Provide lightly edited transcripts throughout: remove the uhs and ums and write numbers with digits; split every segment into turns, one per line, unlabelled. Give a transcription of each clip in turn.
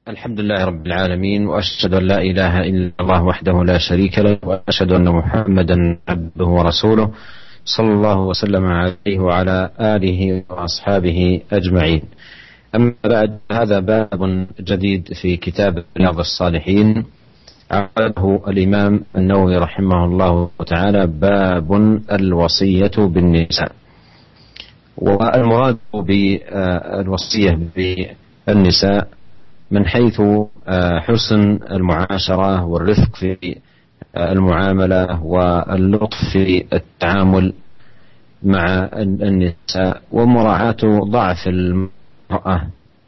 الحمد لله رب العالمين، وأشهد أن لا إله إلا الله وحده لا شريك له، وأشهد أن محمدا عبده ورسوله صلى الله وسلم عليه وعلى آله وأصحابه أجمعين. أما بعد، هذا باب جديد في كتاب رياض الصالحين عقده الإمام النووي رحمه الله تعالى، باب الوصية بالنساء. والمراد بالوصية بالنساء من حيث حسن المعاشرة والرفق في المعاملة واللطف في التعامل مع النساء، ومراعاة ضعف المرأة،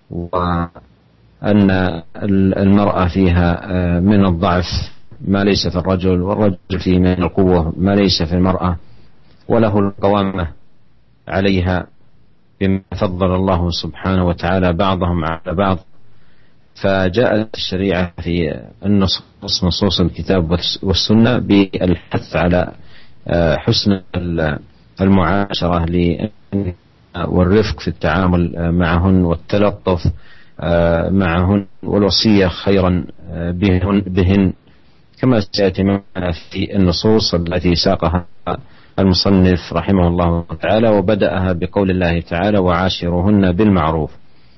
وأن المرأة فيها من الضعف ما ليس في الرجل، والرجل فيه من القوة ما ليس في المرأة، وله القوامة عليها بما فضل الله سبحانه وتعالى بعضهم على بعض. فجاءت الشريعة في نصوص الكتاب والسنة بالحث على حسن المعاشرة والرفق في التعامل معهن، والتلطف معهن، والوصية خيرا بهن، كما سيأتي معنا في النصوص التي ساقها المصنف رحمه الله تعالى، وبدأها بقول الله تعالى: وعاشروهن بالمعروف.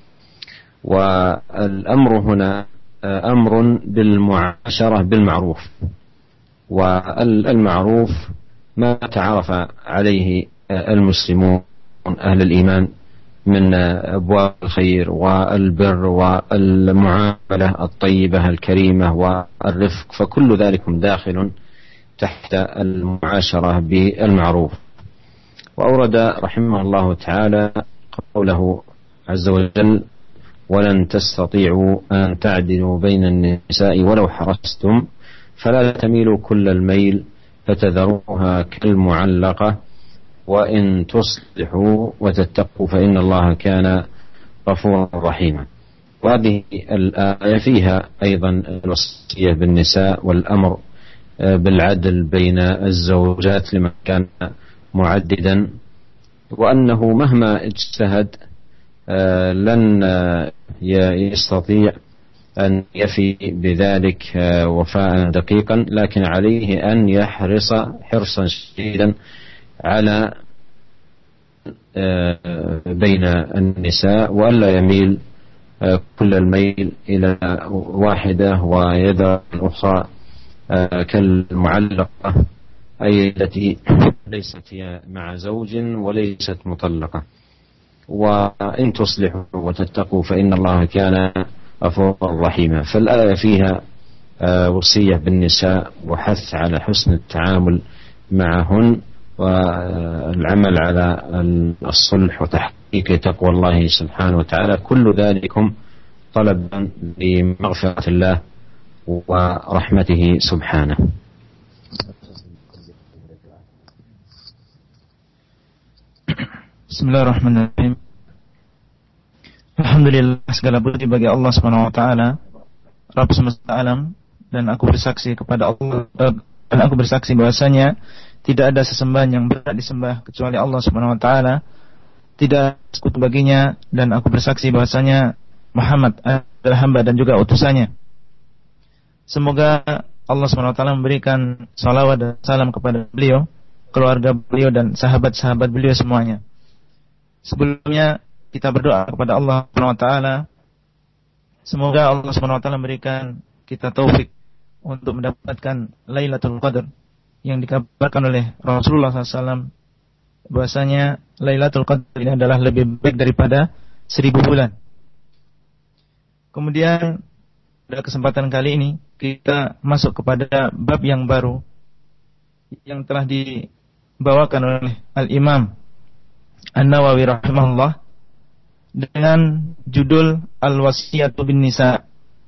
والأمر هنا أمر بالمعاشرة بالمعروف، والمعروف ما تعرف عليه المسلمون أهل الإيمان من أبواب الخير والبر والمعاملة الطيبة الكريمة والرفق، فكل ذلك داخل تحت المعاشرة بالمعروف. وأورد رحمه الله تعالى قوله عز وجل: ولن تستطيعوا أن تعدلوا بين النساء ولو حرصتم فلا تميلوا كل الميل فتذروها كالمعلقة وإن تصلحوا وتتقوا فإن الله كان غفورا رحيما. وهذه الآية فيها أيضا الوصية بالنساء والأمر بالعدل بين الزوجات لمن كان معددا، وأنه مهما اجتهد لن يستطيع أن يفي بذلك وفاء دقيقا، لكن عليه أن يحرص حرصا شديدا على بين النساء، وألا يميل كل الميل إلى واحدة ويدع الأخرى كالمعلقة، أي التي ليست مع زوج وليست مطلقة. وإن تصلحوا وتتقوا فإن الله كان غفورا رحيما. فالآية فيها وصية بالنساء وحث على حسن التعامل معهن، والعمل على الصلح وتحقيق تقوى الله سبحانه وتعالى، كل ذلكم طلبا لمغفرة الله ورحمته سبحانه.
Bismillahirrahmanirrahim. Alhamdulillah, segala puji bagi Allah Subhanahu wa taala, Rabb semesta alam, dan aku bersaksi kepada Allah dan aku bersaksi bahwasanya tidak ada sesembahan yang berhak disembah kecuali Allah Subhanahu wa taala, tidak sekutu baginya, dan aku bersaksi bahwasanya Muhammad adalah hamba dan juga utusannya. Semoga Allah Subhanahu wa taala memberikan salawat dan salam kepada beliau, keluarga beliau dan sahabat-sahabat beliau semuanya. Sebelumnya kita berdoa kepada Allah Subhanahu wa taala, semoga Allah Subhanahu wa taala memberikan kita taufik untuk mendapatkan Lailatul Qadar yang dikabarkan oleh Rasulullah SAW bahwasanya Lailatul Qadar ini adalah lebih baik daripada 1000 bulan. Kemudian pada kesempatan kali ini kita masuk kepada bab yang baru yang telah dibawakan oleh Al-Imam An-Nawawi rahimahullah dengan judul Al-Wasiyatu bin Nisa,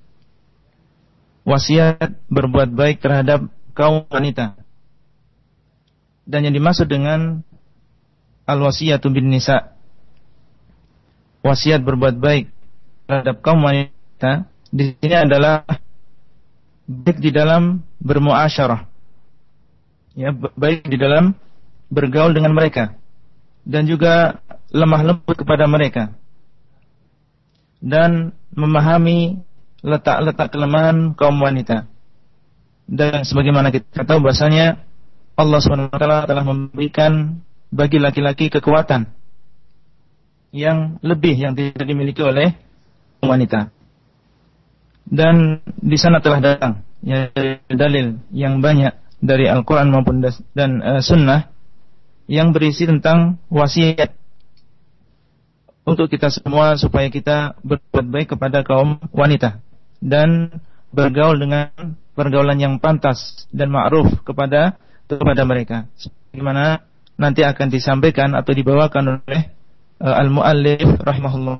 wasiat berbuat baik terhadap kaum wanita. Dan yang dimaksud dengan Al-Wasiyatu bin Nisa, wasiat berbuat baik terhadap kaum wanita, di sini adalah baik di dalam bermuasyarah, ya, baik di dalam bergaul dengan mereka, dan juga lemah lembut kepada mereka, dan memahami letak-letak kelemahan kaum wanita. Dan sebagaimana kita tahu bahasanya Allah SWT telah memberikan bagi laki-laki kekuatan yang lebih yang tidak dimiliki oleh wanita. Dan di sana telah datang ya, dalil yang banyak dari Al-Quran maupun dan Sunnah yang berisi tentang wasiat untuk kita semua supaya kita berbuat baik kepada kaum wanita dan bergaul dengan pergaulan yang pantas dan ma'ruf kepada mereka. Sebagaimana nanti akan disampaikan atau dibawakan oleh al-muallif rahimahullah.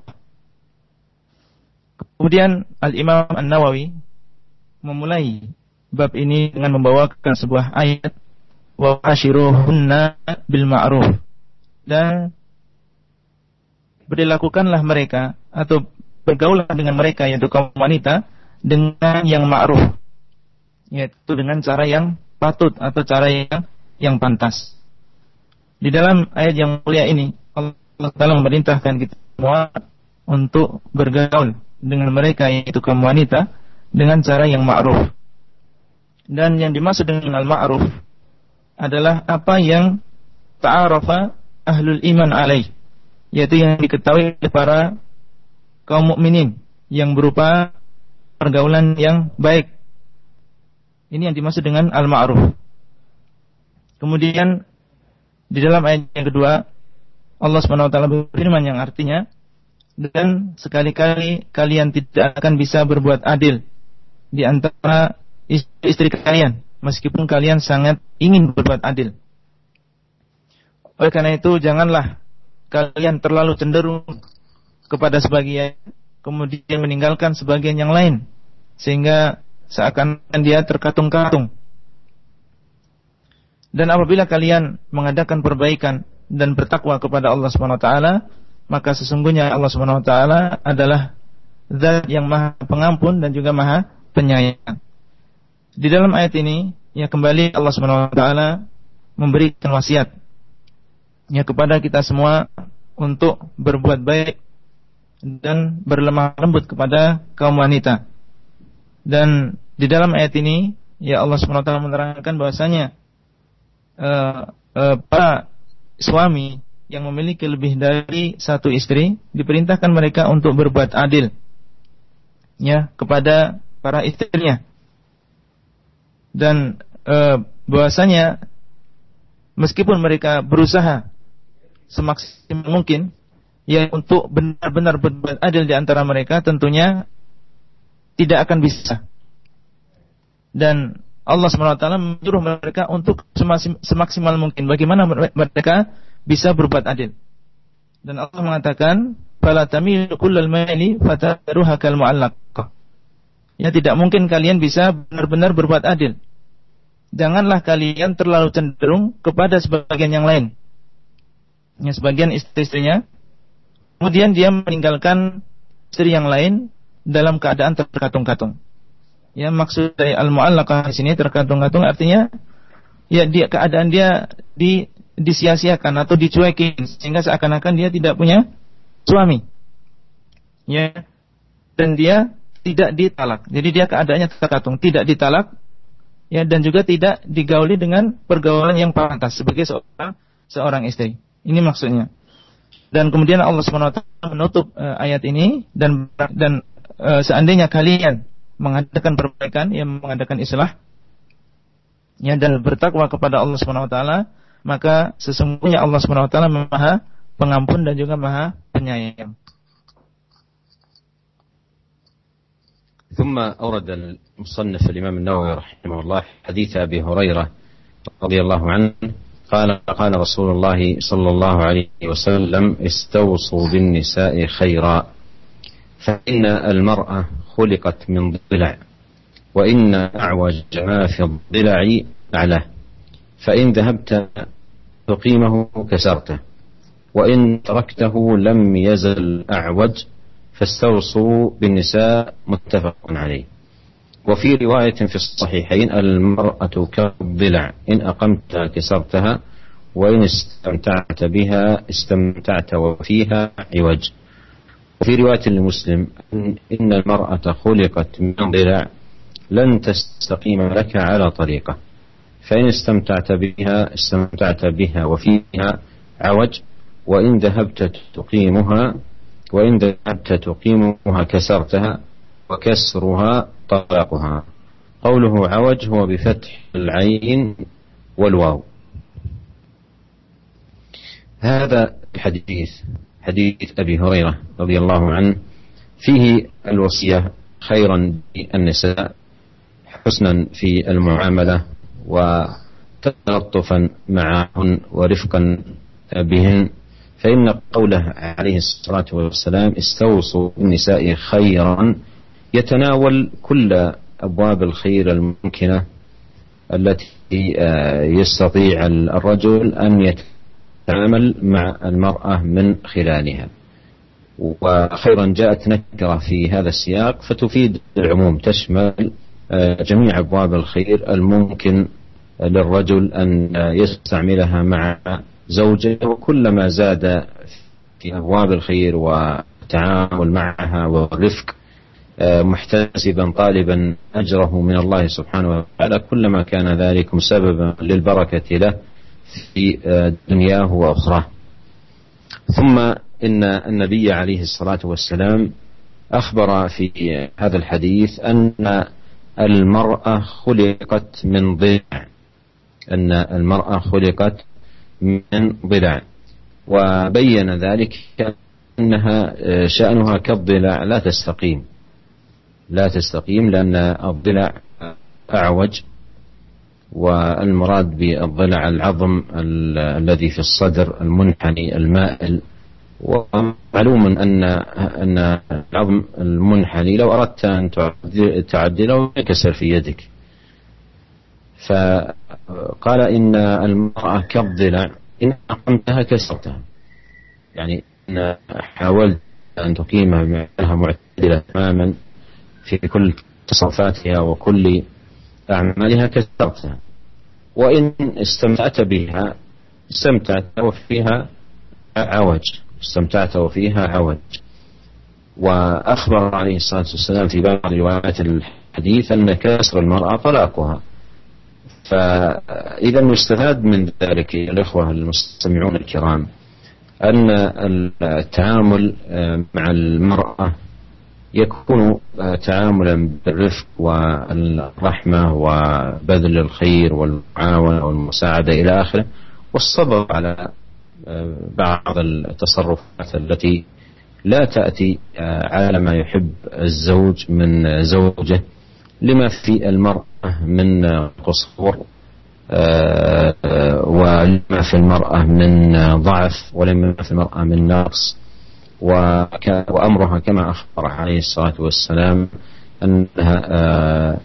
Kemudian Al-Imam An-Nawawi memulai bab ini dengan membawakan sebuah ayat wa ashiruhunna bil ma'ruf, dan berlakukanlah mereka atau bergaulah dengan mereka yaitu kaum wanita dengan yang ma'ruf, yaitu dengan cara yang patut atau cara yang pantas. Di dalam ayat yang mulia ini Allah Ta'ala memerintahkan kita semua untuk bergaul dengan mereka yaitu kaum wanita dengan cara yang ma'ruf. Dan yang dimaksud dengan al-ma'ruf adalah apa yang ta'arafa ahlul iman alaih, yaitu yang diketahui oleh para kaum mukminin yang berupa pergaulan yang baik. Ini yang dimaksud dengan al-ma'ruf. Kemudian di dalam ayat yang kedua Allah SWT berfirman yang artinya, dan sekali-kali kalian tidak akan bisa berbuat adil di antara istri kalian meskipun kalian sangat ingin berbuat adil. Oleh karena itu janganlah kalian terlalu cenderung kepada sebagian kemudian meninggalkan sebagian yang lain sehingga seakan dia terkatung-katung. Dan apabila kalian mengadakan perbaikan dan bertakwa kepada Allah SWT, maka sesungguhnya Allah SWT adalah Zat yang Maha Pengampun dan juga Maha Penyayang. Di dalam ayat ini ya kembali Allah SWT memberikan wasiat ya kepada kita semua untuk berbuat baik dan berlemah lembut kepada kaum wanita. Dan di dalam ayat ini ya Allah SWT menerangkan bahwasanya para suami yang memiliki lebih dari satu istri diperintahkan mereka untuk berbuat adil ya kepada para istrinya, dan bahwasanya meskipun mereka berusaha semaksimal mungkin ya untuk benar-benar berbuat adil di antara mereka, tentunya tidak akan bisa. Dan Allah SWT menyuruh mereka untuk semaksimal mungkin bagaimana mereka bisa berbuat adil. Dan Allah mengatakan, "Fala tamilu kullal maili fatadruha kal mu'allaqah." Ya, tidak mungkin kalian bisa benar-benar berbuat adil. Janganlah kalian terlalu cenderung kepada sebagian yang lain. Ya, sebagian istri-istrinya, kemudian dia meninggalkan istri yang lain dalam keadaan terkatung-katung. Ya, maksud dari al-mu'allaqah di sini terkatung-katung artinya ya keadaan dia disia-siakan atau dicuekin sehingga seakan-akan dia tidak punya suami. Ya. Dan dia tidak ditalak. Jadi dia keadaannya terkatung, tidak ditalak ya, dan juga tidak digauli dengan pergaulan yang pantas sebagai seorang istri. Ini maksudnya. Dan kemudian Allah SWT menutup ayat ini dan seandainya kalian mengadakan perbaikan, yang mengadakan islah, ya, dan bertakwa kepada Allah SWT, maka sesungguhnya Allah SWT Maha Pengampun dan juga Maha Penyayang.
ثم أورد المصنف الإمام النووي رحمه الله حديث أبي هريرة رضي الله عنه قال رسول الله صلى الله عليه وسلم استوصوا بالنساء خيرا فإن المرأة خلقت من ضلع وإن أعوج ما في الضلع أعلاه فإن ذهبت تقيمه كسرته وإن تركته لم يزل أعوج فاستوصوا بالنساء متفق عليه. وفي رواية في الصحيحين المرأة كالضلع إن أقمت كسرتها وإن استمتعت بها استمتعت وفيها عوج. وفي رواية لمسلم إن المرأة خلقت من ضلع لن تستقيم لك على طريقة، فإن استمتعت بها وفيها عوج، وإن ذهبت تقيمها كسرتها، وكسرها طلاقها. قوله عوج هو بفتح العين والواو. هذا الحديث حديث أبي هريرة رضي الله عنه فيه الوصية خيرا بالنساء، حسنا في المعاملة وتلطفا معهن ورفقا بهن، فإن قوله عليه الصلاة والسلام استوصوا بالنساء خيرا يتناول كل أبواب الخير الممكنة التي يستطيع الرجل أن يتعامل مع المرأة من خلالها. وخيرا جاءت نكرة في هذا السياق فتفيد العموم، تشمل جميع أبواب الخير الممكن للرجل أن يستعملها مع زوجه، وكلما زاد في أبواب الخير والتعامل معها والرفق محتسبا طالبا أجره من الله سبحانه وتعالى، كلما كان ذلك سببا للبركة له في دنياه وأخراه. ثم إن النبي عليه الصلاة والسلام أخبر في هذا الحديث أن المرأة خلقت من ضلع، أن المرأة خلقت من ضلع، وبين ذلك أنها شأنها كالضلع لا تستقيم لأن الضلع أعوج، والمراد بالضلع العظم الذي في الصدر المنحني المائل. ومعلوم أن العظم المنحني لو أردت أن تعدله يكسر في يدك، فقال إن المرأة كالضلع إن أقمتها كسرتها، يعني إن حاولت أن تقيمها معتدلة تماما في كل تصرفاتها وكل أعمالها كسرتها، وإن استمتعت بها استمتعت وفيها عوج. وأخبر عليه الصلاة والسلام في بعض روايات الحديث أن كسر المرأة طلاقها. فإذا يستفاد من ذلك الإخوة المستمعون الكرام أن التعامل مع المرأة يكون تعاملا بالرفق والرحمة وبذل الخير والمعاونة والمساعدة إلى آخره، والصبر على بعض التصرفات التي لا تأتي على ما يحب الزوج من زوجه، لما في المرأة من قصور ولما في المرأة من ضعف ولما في المرأة من نقص. وأمرها كما أخبر عليه الصلاة والسلام أنها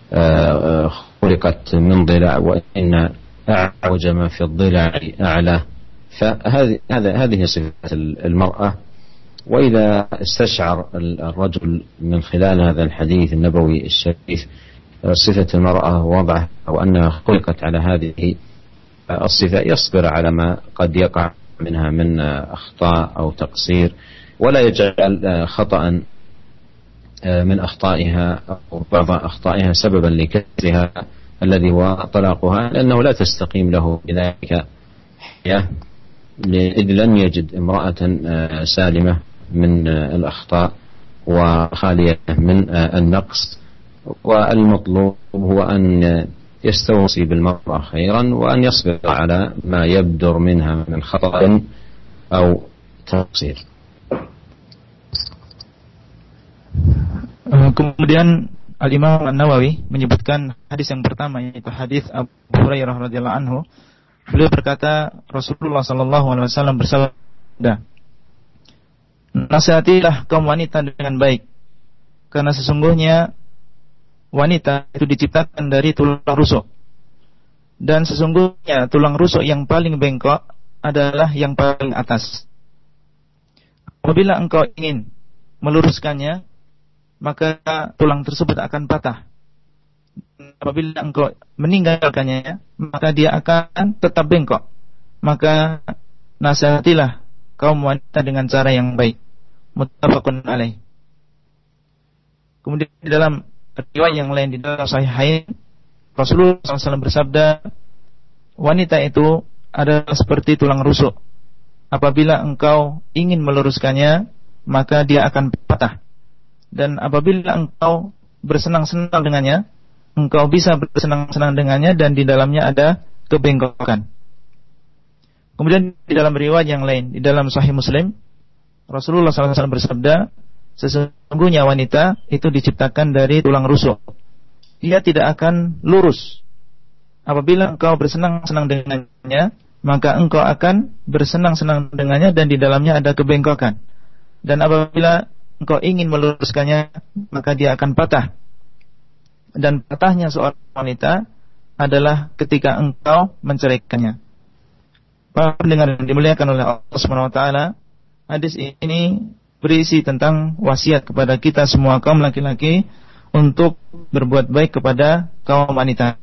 خلقت من ضلع، وإن أعوج ما في الضلع أعلى. فهذه صفة المرأة. وإذا استشعر الرجل من خلال هذا الحديث النبوي الشريف صفة المرأة ووضعها وأنها خلقت على هذه الصفة، يصبر على ما قد يقع منها من أخطاء أو تقصير، ولا يجعل خطأ من أخطائها أو بعض أخطائها سببا لكسرها الذي هو طلاقها، لأنه لا تستقيم له بذلك حياة، إذ لم يجد امرأة سالمة من الأخطاء وخالية من النقص. والمطلوب هو أن يستوصي بالمرأة خيرا وأن يصبر على ما يبدر منها من خطأ أو تقصير.
Kemudian Al-Imam An-Nawawi menyebutkan hadis yang pertama, yaitu hadis Abu Hurairah radhiyallahu anhu. Beliau berkata, Rasulullah sallallahu alaihi wasallam bersabda, "Nasihatilah kaum wanita dengan baik, karena sesungguhnya wanita itu diciptakan dari tulang rusuk, dan sesungguhnya tulang rusuk yang paling bengkok adalah yang paling atas. Apabila engkau ingin meluruskannya, maka tulang tersebut akan patah. Apabila engkau meninggalkannya, maka dia akan tetap bengkok. Maka nasihatilah kaum wanita dengan cara yang baik. muttafaqun alaih. Kemudian di dalam riwayat yang lain di dalam Sahihain, Rasulullah SAW bersabda, wanita itu adalah seperti tulang rusuk. Apabila engkau ingin meluruskannya, maka dia akan patah. Dan apabila engkau bersenang-senang dengannya, engkau bisa bersenang-senang dengannya dan di dalamnya ada kebengkokan. Kemudian di dalam riwayat yang lain, di dalam Sahih Muslim, Rasulullah SAW bersabda, sesungguhnya wanita itu diciptakan dari tulang rusuk. Dia tidak akan lurus. Apabila engkau bersenang-senang dengannya, maka engkau akan bersenang-senang dengannya dan di dalamnya ada kebengkokan. Dan apabila engkau ingin meluruskannya, maka dia akan patah. Dan patahnya seorang wanita adalah ketika engkau menceraikannya. Para pendengar yang dimuliakan oleh Allah Subhanahu wa taala, hadis ini berisi tentang wasiat kepada kita semua kaum laki-laki untuk berbuat baik kepada kaum wanita.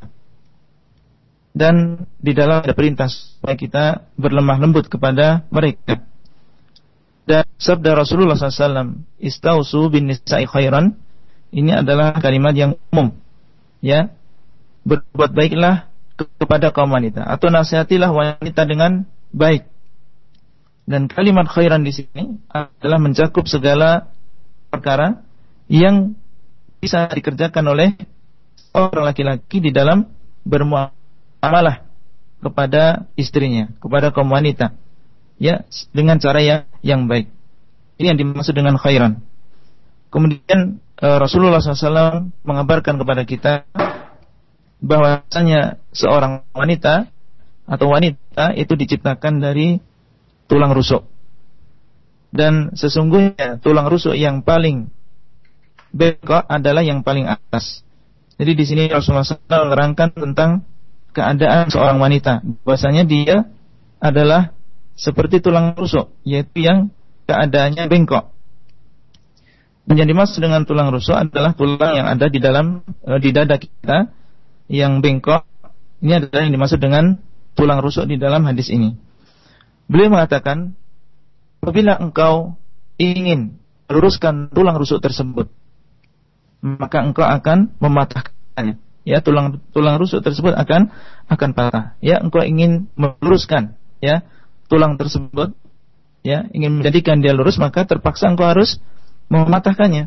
Dan di dalam ada perintah supaya kita berlemah lembut kepada mereka. Dan sabda Rasulullah SAW, istausu bin nisa'i khairan, ini adalah kalimat yang umum, ya. Berbuat baiklah kepada kaum wanita, atau nasihatilah wanita dengan baik. Dan kalimat khairan di sini adalah mencakup segala perkara yang bisa dikerjakan oleh orang laki-laki di dalam bermuamalah kepada istrinya, kepada kaum wanita, ya, dengan cara yang baik. Ini yang dimaksud dengan khairan. Kemudian Rasulullah SAW mengabarkan kepada kita bahwasanya seorang wanita atau wanita itu diciptakan dari tulang rusuk. Dan sesungguhnya tulang rusuk yang paling bengkok adalah yang paling atas. Jadi di sini Rasulullah SAW menerangkan tentang keadaan seorang wanita, bahwasanya dia adalah seperti tulang rusuk, yaitu yang keadaannya bengkok. Dan yang dimaksud dengan tulang rusuk adalah tulang yang ada di dalam di dada kita yang bengkok. Ini adalah yang dimaksud dengan tulang rusuk di dalam hadis ini. Beliau mengatakan, apabila engkau ingin meluruskan tulang rusuk tersebut, maka engkau akan mematahkannya. Ya, tulang rusuk tersebut akan patah. Ya, engkau ingin meluruskan, ya, tulang tersebut, ya, ingin menjadikan dia lurus, maka terpaksa engkau harus mematahkannya.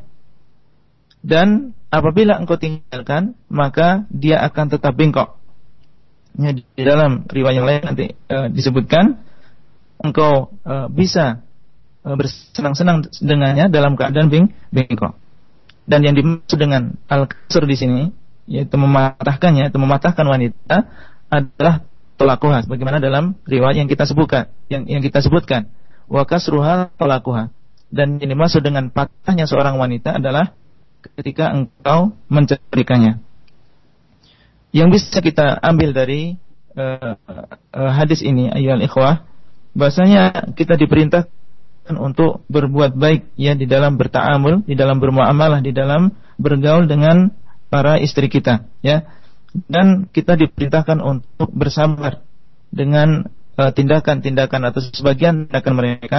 Dan apabila engkau tinggalkan, maka dia akan tetap bengkok. Ya, di dalam riwayat yang lain nanti disebutkan, engkau bisa bersenang-senang dengannya dalam keadaan bengkok. Dan yang dimaksud dengan al-kasr di sini, yaitu mematahkannya, itu mematahkan wanita, adalah talaquha, bagaimana dalam riwayat yang kita sebutkan, yang kita sebutkan, wa kasruha talaquha. Dan yang dimaksud dengan patahnya seorang wanita adalah ketika engkau menceraikannya. Yang bisa kita ambil dari hadis ini, ayyuhal ikhwah, bahasanya kita diperintahkan untuk berbuat baik, ya, di dalam berta'amul, di dalam bermuamalah, di dalam bergaul dengan para istri kita, ya. Dan kita diperintahkan untuk bersabar dengan tindakan-tindakan atau sebagian tindakan mereka,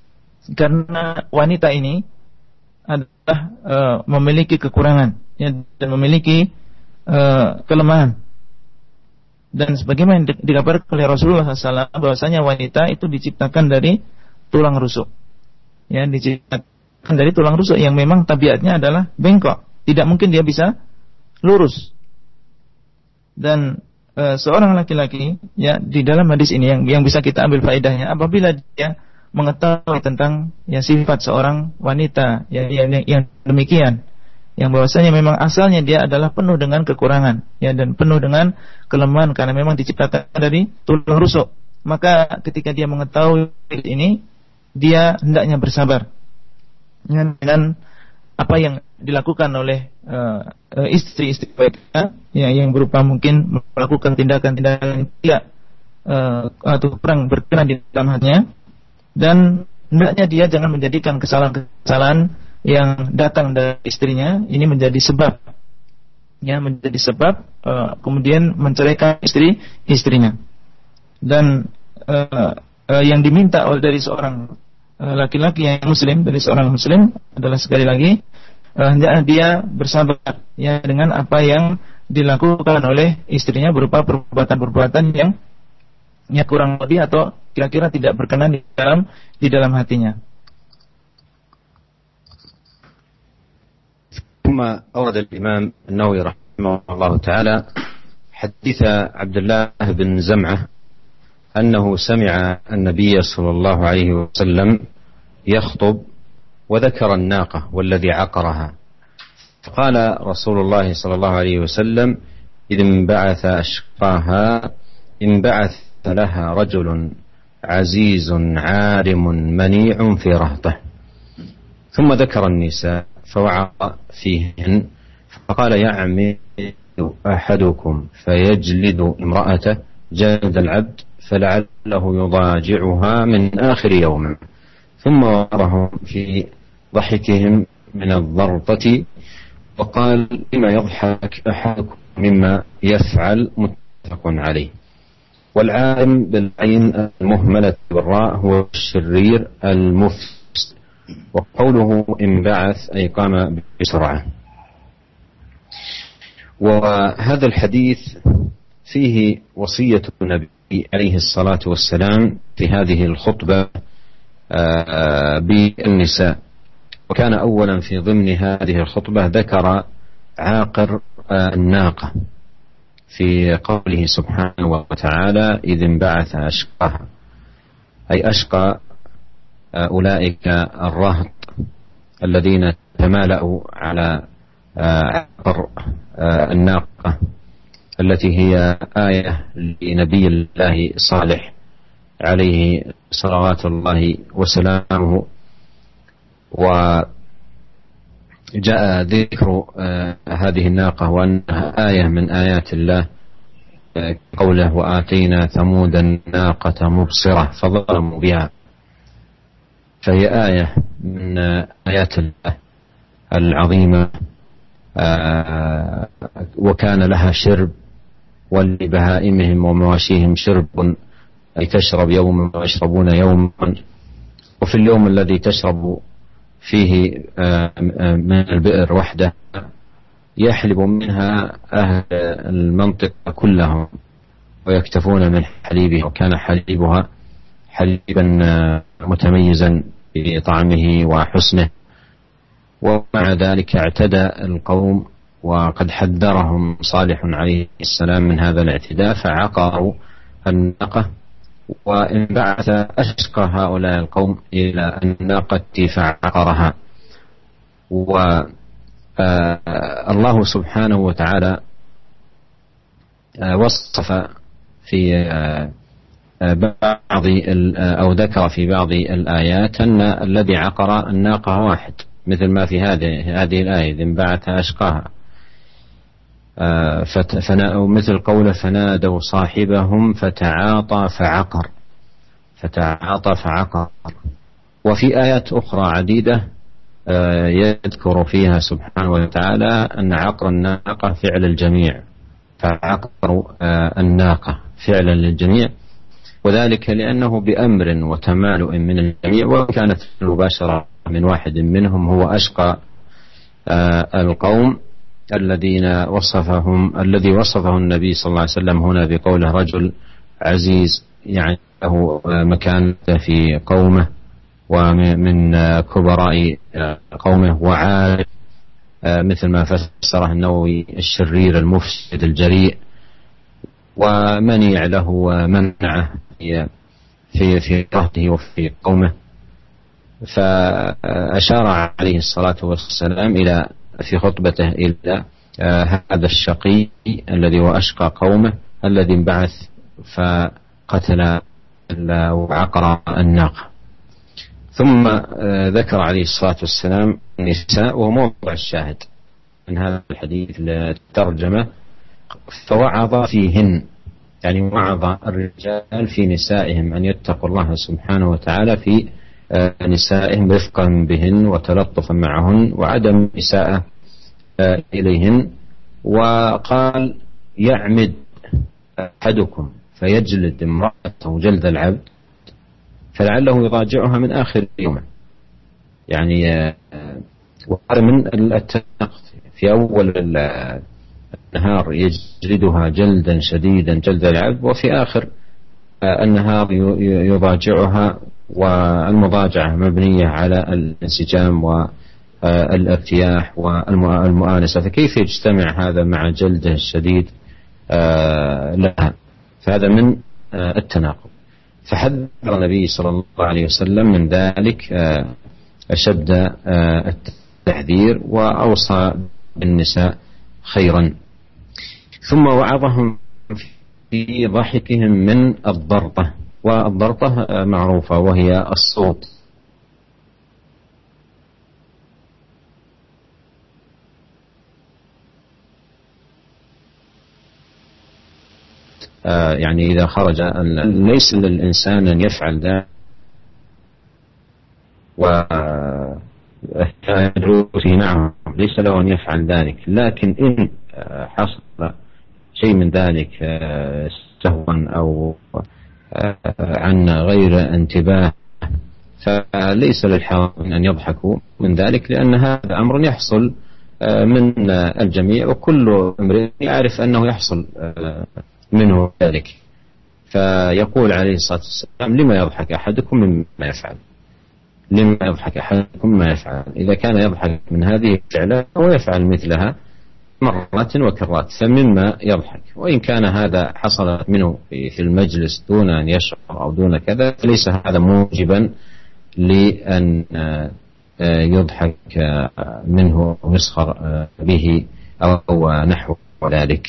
karena wanita ini adalah memiliki kekurangan, ya, dan memiliki kelemahan. Dan sebagaimana dikabarkan oleh Rasulullah SAW, bahwasanya wanita itu diciptakan dari tulang rusuk, ya, diciptakan dari tulang rusuk yang memang tabiatnya adalah bengkok, tidak mungkin dia bisa lurus. Dan seorang laki-laki, ya, di dalam hadis ini yang bisa kita ambil faedahnya, apabila dia mengetahui tentang, ya, sifat seorang wanita, ya, yang demikian, yang bahwasanya memang asalnya dia adalah penuh dengan kekurangan, ya, dan penuh dengan kelemahan karena memang diciptakan dari tulang rusuk, maka ketika dia mengetahui ini, dia hendaknya bersabar, ya, dengan apa yang dilakukan oleh istri-istri mereka, ya, yang berupa mungkin melakukan tindakan-tindakan yang tidak atau kurang berkenan di dalam hatinya, dan hendaknya dia jangan menjadikan kesalahan-kesalahan yang datang dari istrinya ini menjadi sebab, ya, menjadi sebab kemudian menceraikan istrinya. Dan yang diminta dari seorang laki-laki yang muslim, dari seorang muslim adalah sekali lagi hendaknya dia bersabar ya dengan apa yang dilakukan oleh istrinya berupa perbuatan-perbuatan yang kurang lebih atau kira-kira tidak berkenan di dalam hatinya.
ثم أورد الإمام النووي رحمه الله تعالى حديث عبد الله بن زمعة أنه سمع النبي صلى الله عليه وسلم يخطب وذكر الناقة والذي عقرها، فقال رسول الله صلى الله عليه وسلم: إذ انبعث أشقاها انبعث لها رجل عزيز عارم منيع في رهطه. ثم ذكر النساء فوعظ فيهن فقال: يعمد أحدكم فيجلد امرأته جلد العبد فلعله يضاجعها من آخر يوم. ثم وعظهم في ضحكهم من الضرطة وقال: لما يضحك أحدكم مما يفعل، متفق عليه. والعالم بالعين المهملة بالراء هو الشرير المفسد، وقوله انبعث أي قام بسرعة. وهذا الحديث فيه وصية النبي عليه الصلاة والسلام في هذه الخطبة بالنساء، وكان أولا في ضمن هذه الخطبة ذكر عاقر الناقة في قوله سبحانه وتعالى: إذ انبعث أشقاها، أي أشقى أولئك الرهط الذين تمالأوا على عقر الناقة التي هي آية لنبي الله صالح عليه صلوات الله وسلامه. وجاء ذكر هذه الناقة وأنها آية من آيات الله، قوله: وآتينا ثمود الناقة مبصرة فظلموا بها، فهي آية من آيات الله العظيمة، وكان لها شرب ولبهائمهم ومواشيهم شرب، أي تشرب يوما ويشربون يوما، وفي اليوم الذي تشرب فيه من البئر وحده يحلب منها أهل المنطقة كلهم ويكتفون من حليبها، وكان حليبها حليبا متميزا بطعمه وحسنه. ومع ذلك اعتدى القوم، وقد حذرهم صالح عليه السلام من هذا الاعتداء، فعقروا الناقة، وانبعث أشقى هؤلاء القوم إلى الناقة فعقرها. والله سبحانه وتعالى وصف في بعض أو ذكر في بعض الآيات أن الذي عقر الناقة واحد، مثل ما في هذه الآية: إذ انبعث أشقاها، مثل قوله: فنادوا صاحبهم فتعاطى فعقر. وفي آيات أخرى عديدة يذكر فيها سبحانه وتعالى أن عقر الناقة فعل الجميع، فعقروا الناقة فعلا للجميع، وذلك لأنه بأمر وتمالؤ من الجميع، وكانت المباشرة من واحد منهم هو أشقى القوم الذي وصفه النبي صلى الله عليه وسلم هنا بقوله: رجل عزيز، يعني له مكانته في قومه ومن كبراء قومه، وعارف مثل ما فسره النووي الشرير المفسد الجريء، ومنيع له ومنعه في رهته وفي قومه. فأشار عليه الصلاة والسلام في خطبته إلى هذا الشقي الذي هو أشقى قومه الذي انبعث فقتل وعقر الناقة. ثم ذكر عليه الصلاة والسلام النساء، وهو موضع الشاهد من هذا الحديث للترجمة، فوعظ فيهن، يعني وعظ الرجال في نسائهم أن يتقوا الله سبحانه وتعالى في نسائهم رفقا بهن وتلطفا معهن وعدم إساءة إليهن. وقال: يعمد أحدكم فيجلد امرأته جلد العبد فلعله يضاجعها من آخر يومه. يعني وهذا من التناقض، في أول النهار يجلدها جلدا شديدا جلد العبد، وفي آخر النهار يضاجعها، والمضاجعة مبنية على الانسجام والارتياح والمؤانسة، فكيف يجتمع هذا مع جلده الشديد لها؟ فهذا من التناقض. فحذر النبي صلى الله عليه وسلم من ذلك أشد التحذير، وأوصى بالنساء خيرا. ثم وعظهم في ضحكهم من الضرطة، والضرطة معروفة وهي الصوت. يعني إذا خرج، ليس للإنسان أن يفعل ذلك نعم ليس له أن يفعل ذلك، لكن إن حصل شيء من ذلك سهوا أو عن غير انتباه، فليس للحاضرين أن يضحكوا من ذلك، لأن هذا أمر يحصل من الجميع، وكل امرئ يعرف أنه يحصل منه ذلك. فيقول عليه الصلاة والسلام: لما يضحك أحدكم مما يفعل؟ لما يضحك أحدكم مما يفعل؟ إذا كان يضحك من هذه الفعلة ويفعل مثلها مرات وكرات فمما يضحك. وإن كان هذا حصل منه في المجلس دون أن يشعر أو دون كذا، فليس هذا موجبا لأن يضحك منه ويسخر به أو نحو ذلك.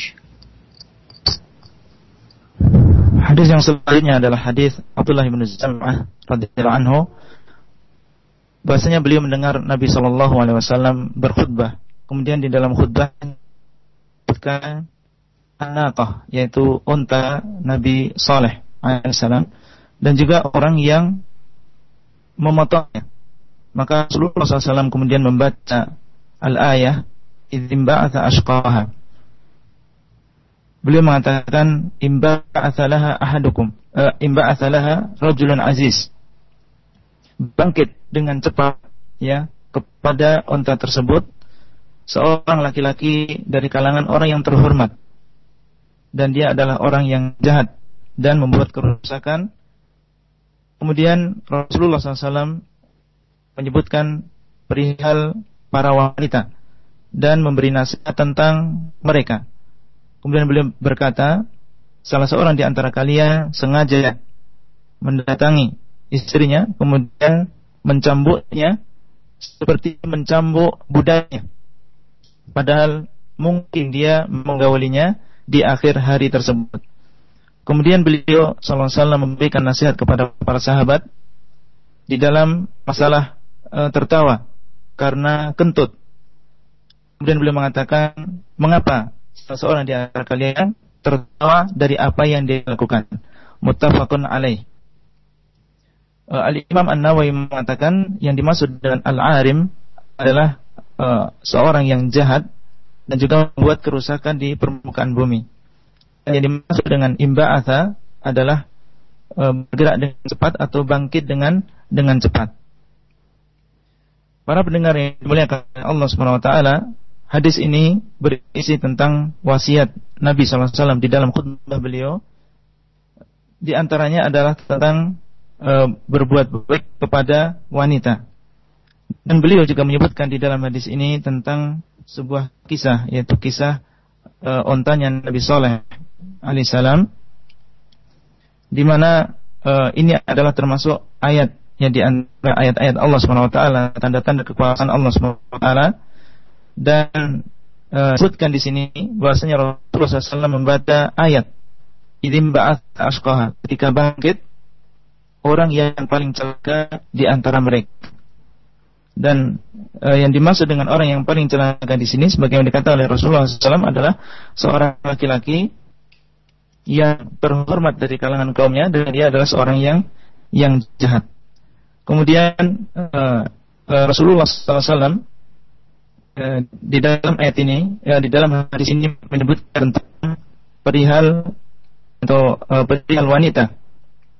Hadis yang selanjutnya adalah hadis Abdullah bin Zam'ah radhiyallahu anhu, bahasanya beliau mendengar Nabi sallallahu alaihi wasallam berkhutbah. Kemudian di dalam khutbah disebutkan anaqah, yaitu unta Nabi Saleh alaihissalam, dan juga orang yang memotongnya. Maka Rasulullah SAW kemudian membaca al-ayah idzin ba'atha ashqaha. Beliau mengatakan imba'atha laha ahadukum, imba'atha laha rajulun aziz. Bangkit dengan cepat ya kepada unta tersebut seorang laki-laki dari kalangan orang yang terhormat, dan dia adalah orang yang jahat dan membuat kerusakan. Kemudian Rasulullah SAW menyebutkan perihal para wanita dan memberi nasihat tentang mereka. Kemudian beliau berkata, salah seorang di antara kalian sengaja mendatangi istrinya, kemudian mencambuknya seperti mencambuk budaknya, padahal mungkin dia menggaulinya di akhir hari tersebut. Kemudian beliau sallallahu alaihi wasallam memberikan nasihat kepada para sahabat di dalam masalah tertawa karena kentut. Kemudian beliau mengatakan, mengapa seseorang di antara kalian tertawa dari apa yang dia lakukan? Muttafaqun alaih. Al-Imam An-Nawawi mengatakan yang dimaksud dengan al-arim adalah seorang yang jahat dan juga membuat kerusakan di permukaan bumi. Dan yang dimaksud dengan imba'atha adalah bergerak dengan cepat atau bangkit dengan cepat. Para pendengar yang dimuliakan Allah Subhanahu wa taala, hadis ini berisi tentang wasiat Nabi sallallahu alaihi wasallam di dalam khutbah beliau. Di antaranya adalah tentang berbuat baik kepada wanita. Dan beliau juga menyebutkan di dalam hadis ini tentang sebuah kisah, yaitu kisah ontanya Nabi Saleh alaihissalam, di mana ini adalah termasuk ayat yang di antara ayat-ayat Allah Subhanahu wa taala, tanda-tanda kekuasaan Allah Subhanahu wa taala. Dan sebutkan di sini bahwasanya Rasulullah SAW membaca ayat idzin ba'atha ashqaha, ketika bangkit orang yang paling celaka di antara mereka. Dan yang dimaksud dengan orang yang paling celaka di sini, sebagaimana dikatakan oleh Rasulullah SAW, adalah seorang laki-laki yang terhormat dari kalangan kaumnya, dan dia adalah seorang yang jahat. Kemudian Rasulullah SAW di dalam ayat ini, di dalam hadis ini menyebutkan tentang perihal atau perihal wanita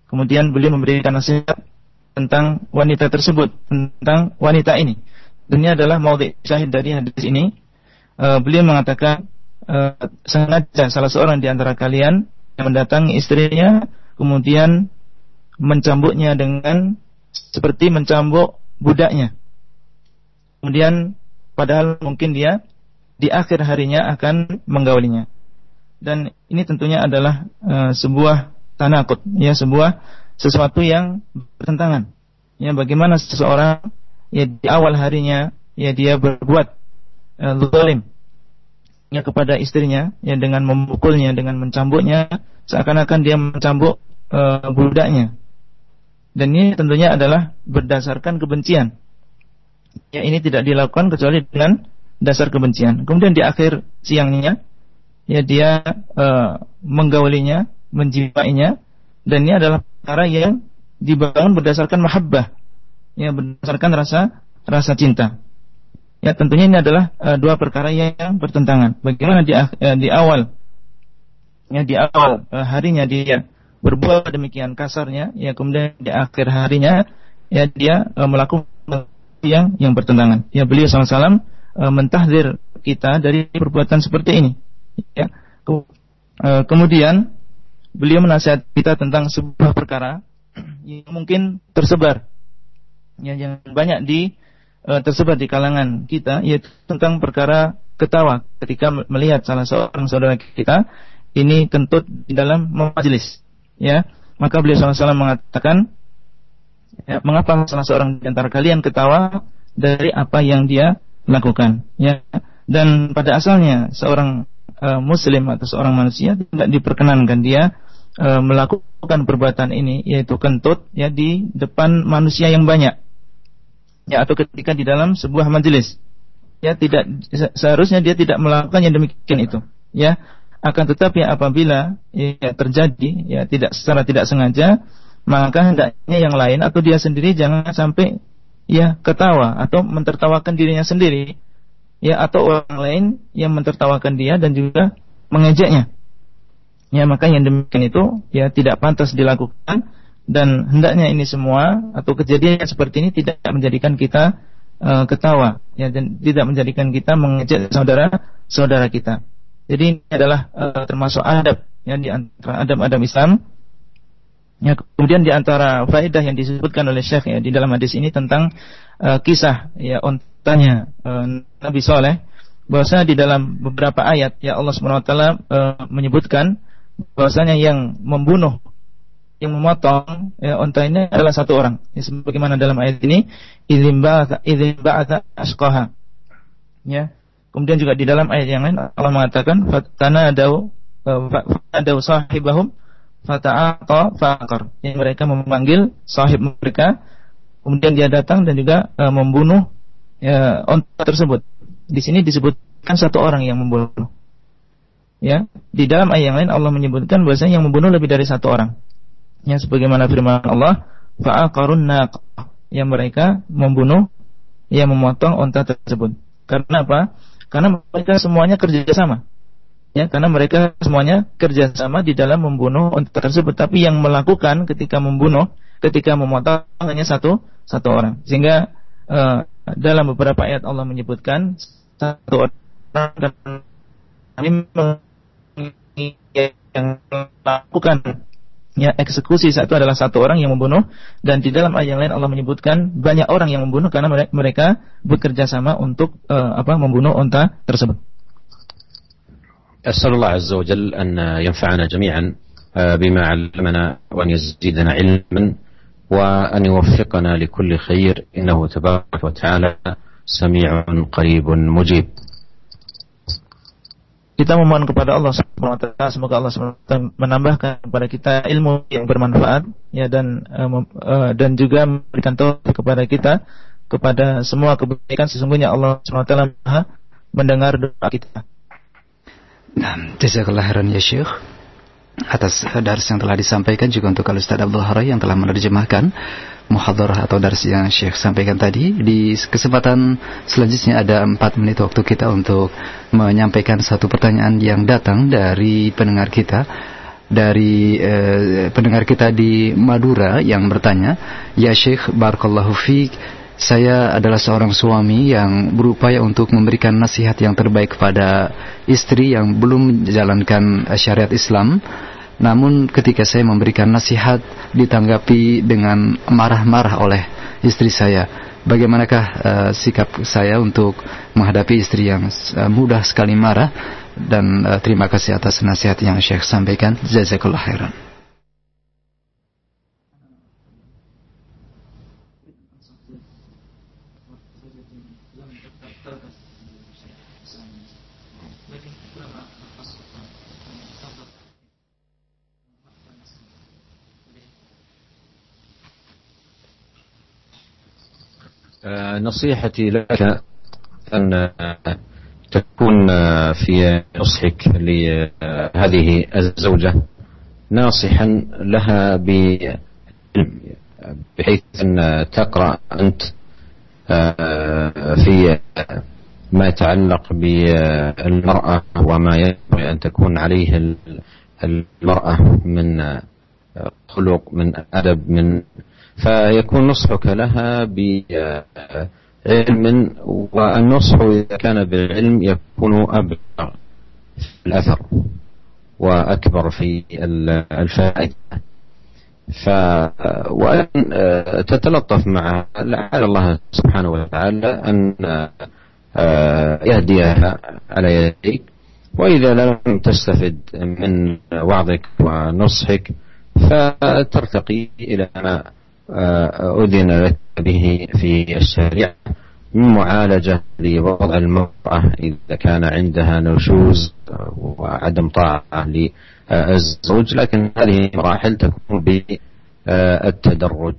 Kemudian beliau memberikan nasihat tentang wanita tersebut, tentang wanita ini. Dan ini adalah maudhi' syahid dari hadis ini. Beliau mengatakan, sengaja salah seorang di antara kalian yang mendatangi istrinya, kemudian mencambuknya dengan seperti mencambuk budaknya. Kemudian padahal mungkin dia di akhir harinya akan menggaulinya. Dan ini tentunya adalah sebuah tanakut, ya, sesuatu yang bertentangan. Ya, bagaimana seseorang ya di awal harinya ya dia berbuat zalim ya kepada istrinya, ya, dengan memukulnya, dengan mencambuknya, seakan-akan dia mencambuk budaknya. Dan ini tentunya adalah berdasarkan kebencian. Ya, ini tidak dilakukan kecuali dengan dasar kebencian. Kemudian di akhir siangnya ya dia menggaulinya, menjimainya, dan ini adalah perkara yang dibangun berdasarkan mahabbah, ya, berdasarkan rasa cinta. Ya, tentunya ini adalah dua perkara yang bertentangan. Bagaimana di awal harinya dia berbuat demikian kasarnya, ya, kemudian di akhir harinya ya dia melakukan yang bertentangan. Ya, beliau SAW mentahdzir kita dari perbuatan seperti ini. Ya. Kemudian beliau menasihat kita tentang sebuah perkara yang mungkin tersebar, ya, yang banyak tersebar di kalangan kita, yaitu tentang perkara ketawa ketika melihat salah seorang saudara kita ini kentut di dalam majelis. Ya, maka beliau SAW mengatakan, ya, mengapa salah seorang di antara kalian ketawa dari apa yang dia lakukan? Ya, dan pada asalnya seorang Muslim atau seorang manusia tidak diperkenankan dia melakukan perbuatan ini, yaitu kentut, ya, di depan manusia yang banyak, ya, atau ketika di dalam sebuah majelis. Ya, tidak seharusnya dia tidak melakukan yang demikian itu. Ya, akan tetapi apabila ya terjadi, ya, secara tidak sengaja, maka hendaknya yang lain atau dia sendiri jangan sampai ya ketawa atau mentertawakan dirinya sendiri, ya, atau orang lain yang mentertawakan dia dan juga mengejeknya. Ya, maka yang demikian itu ya tidak pantas dilakukan, dan hendaknya ini semua atau kejadian seperti ini tidak menjadikan kita ketawa, ya, dan tidak menjadikan kita mengejek saudara kita. Jadi ini adalah termasuk adab, ya, di antara adab-adab Islam. Ya, kemudian di antara faedah yang disebutkan oleh Syekh, ya, di dalam hadis ini tentang kisah, ya, ontanya Nabi Saleh, bahwasanya di dalam beberapa ayat, ya, Allah SWT menyebutkan bahwasanya yang membunuh, yang memotong, ya, onta ini adalah satu orang, ya, sebagaimana dalam ayat ini, idzin ba'atha ashqaha. Ya, kemudian juga di dalam ayat yang lain Allah mengatakan fatanadau sahibahum fata'aqa faqar, yang mereka memanggil sahib mereka, kemudian dia datang dan juga membunuh, ya, onta tersebut. Di sini disebutkan satu orang yang membunuh. Ya, di dalam ayat yang lain Allah menyebutkan bahwasanya yang membunuh lebih dari satu orang. Ya, sebagaimana firman Allah, fa'aqarun naqah, yang mereka membunuh, ya, memotong onta tersebut. Karena apa? Karena mereka semuanya kerjasama. Ya, karena mereka semuanya kerjasama di dalam membunuh onta tersebut. Tapi yang melakukan ketika membunuh, ketika memotong hanya satu orang. Sehingga dalam beberapa ayat Allah menyebutkan satu orang yang melakukan, ya, eksekusi itu adalah satu orang yang membunuh, dan di dalam ayat yang lain Allah menyebutkan banyak orang yang membunuh karena mereka bekerja sama untuk membunuh unta tersebut.
أسأل الله عز وجل أن ينفعنا جميعا بما علمنا وأن يزيدنا علما وأن يوفقنا لكل خير إنه تبارك وتعالى سميع قريب مجيب.
Kita memohon kepada Allah SWT, semoga Allah SWT menambahkan kepada kita ilmu yang bermanfaat, ya, dan juga memberikan taufik kepada kita kepada semua kebaikan. Sesungguhnya Allah SWT Maha mendengar doa kita.
Nah, jazakallahu khairan ya Syekh atas dars yang telah disampaikan, juga untuk Al-Ustaz Abdul Harai yang telah menerjemahkan muhadharah atau dars yang Syekh sampaikan tadi. Di kesempatan selanjutnya ada 4 menit waktu kita untuk menyampaikan satu pertanyaan yang datang dari pendengar kita. dari pendengar kita di Madura yang bertanya, "Ya Syekh, barakallahu fiik, saya adalah seorang suami yang berupaya untuk memberikan nasihat yang terbaik kepada istri yang belum menjalankan syariat Islam. Namun ketika saya memberikan nasihat ditanggapi dengan marah-marah oleh istri saya. Bagaimanakah sikap saya untuk menghadapi istri yang mudah sekali marah? Dan terima kasih atas nasihat yang Syekh sampaikan. Jazakallah khairan."
نصيحتي لك أن تكون في نصحك لهذه الزوجة ناصحا لها بحيث أن تقرأ أنت في ما يتعلق بالمرأة وما ينبغي أن تكون عليه المرأة من خلق، من أدب، فيكون نصحك لها بعلم، والنصح إذا كان بالعلم يكون أبلغ في الأثر وأكبر في الفائدة. وأن تتلطف مع لعل الله سبحانه وتعالى أن يهديها على يديك، وإذا لم تستفد من وعظك ونصحك فترتقي إلى ما أذن لك به في الشريعة من معالجة لوضع المرأة إذا كان عندها نشوز وعدم طاعة للزوج، لكن هذه مراحل تكون بالتدرج.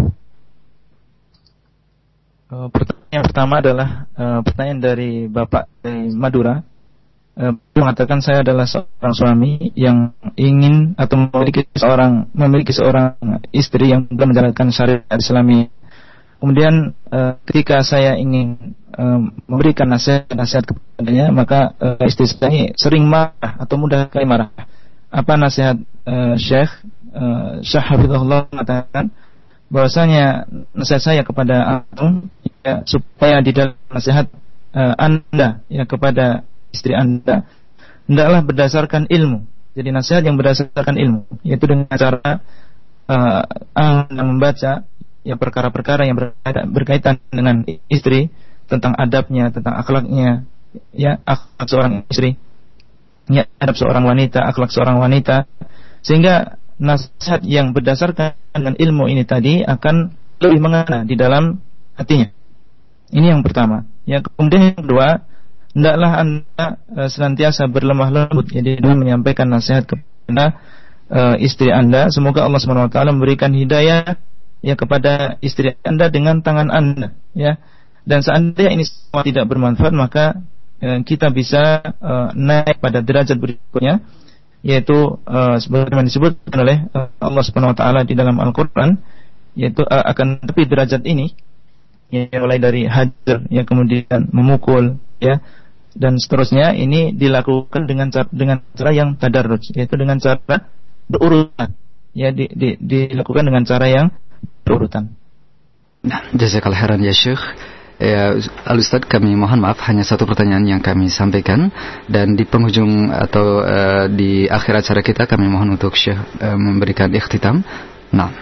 Pertanyaan pertama adalah pertanyaan dari Bapak dari Madura. Mengatakan, saya adalah seorang suami yang ingin atau memiliki seorang istri yang belum menjalankan syariat Islami. Kemudian ketika saya ingin memberikan nasihat kepadanya, maka istri saya ini sering marah atau mudah sekali marah. Apa nasihat Syekh Hafizahullah mengatakan bahwasanya nasihat saya kepada antum ya, supaya di dalam nasihat Anda ya kepada istri Anda hendaklah berdasarkan ilmu. Jadi nasihat yang berdasarkan ilmu, yaitu dengan cara Anda membaca ya perkara-perkara yang berkaitan dengan istri, tentang adabnya, tentang akhlaknya, ya akhlak seorang istri, ya adab seorang wanita, akhlak seorang wanita, sehingga nasihat yang berdasarkan dengan ilmu ini tadi akan lebih mengena di dalam hatinya. Ini yang pertama. Ya, kemudian yang kedua, hendaklah Anda senantiasa berlemah lembut jadi dalam menyampaikan nasihat kepada istri Anda. Semoga Allah SWT memberikan hidayah ya kepada istri Anda dengan tangan Anda ya. Dan seandainya ini semua tidak bermanfaat, maka kita bisa naik pada derajat berikutnya, yaitu sebagaimana disebutkan oleh Allah SWT di dalam Al-Qur'an, yaitu akan lebih derajat ini ya, mulai dari hajar ya, kemudian memukul ya, dan seterusnya. Ini dilakukan dengan cara yang tadarruj, yaitu dengan cara berurutan ya, dilakukan dengan cara yang berurutan.
Nah, jazakallahu khairan ya Syekh. Ya, Al-Ustaz, kami mohon maaf, hanya satu pertanyaan yang kami sampaikan, dan di penghujung atau di akhir acara kita kami mohon untuk Syekh memberikan ikhtitam. Nah,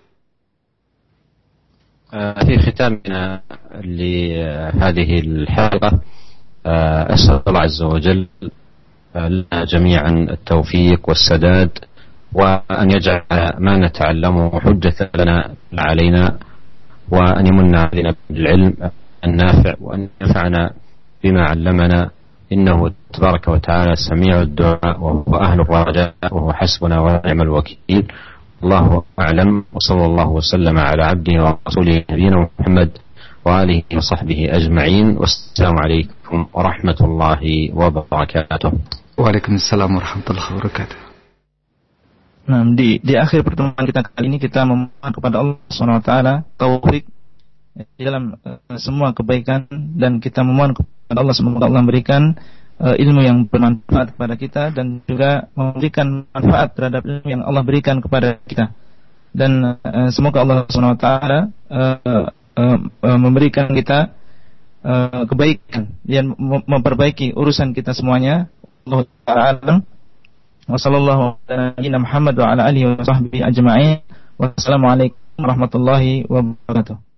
في ختامنا لهذه الحلقة أسأل الله عز وجل لنا جميعا التوفيق والسداد، وأن يجعل ما نتعلمه حجة لنا لا علينا، وأن يمن علينا بالعلم النافع، وأن ينفعنا بما علمنا، إنه تبارك وتعالى سميع الدعاء وهو أهل الرجاء وهو حسبنا ونعم الوكيل. الله أعلم، وصلى الله وسلم على عبده ورسوله نبينا محمد وآله وصحبه أجمعين، والسلام عليكم ورحمة الله وبركاته.
Waalaikumsalam warahmatullahi wabarakatuh.
Nah, di akhir pertemuan kita kali ini kita memohon kepada Allah SWT taufik di dalam semua kebaikan, dan kita memohon kepada Allah semoga Allah memberikan ilmu yang bermanfaat kepada kita dan juga memberikan manfaat terhadap ilmu yang Allah berikan kepada kita. Dan semoga Allah Subhanahu wa taala memberikan kita kebaikan dan memperbaiki urusan kita semuanya. Allah taala wa sallallahu ala nabiyyina Muhammad wa ala alihi wa sahbihi ajma'in. Wassalamualaikum warahmatullahi wabarakatuh.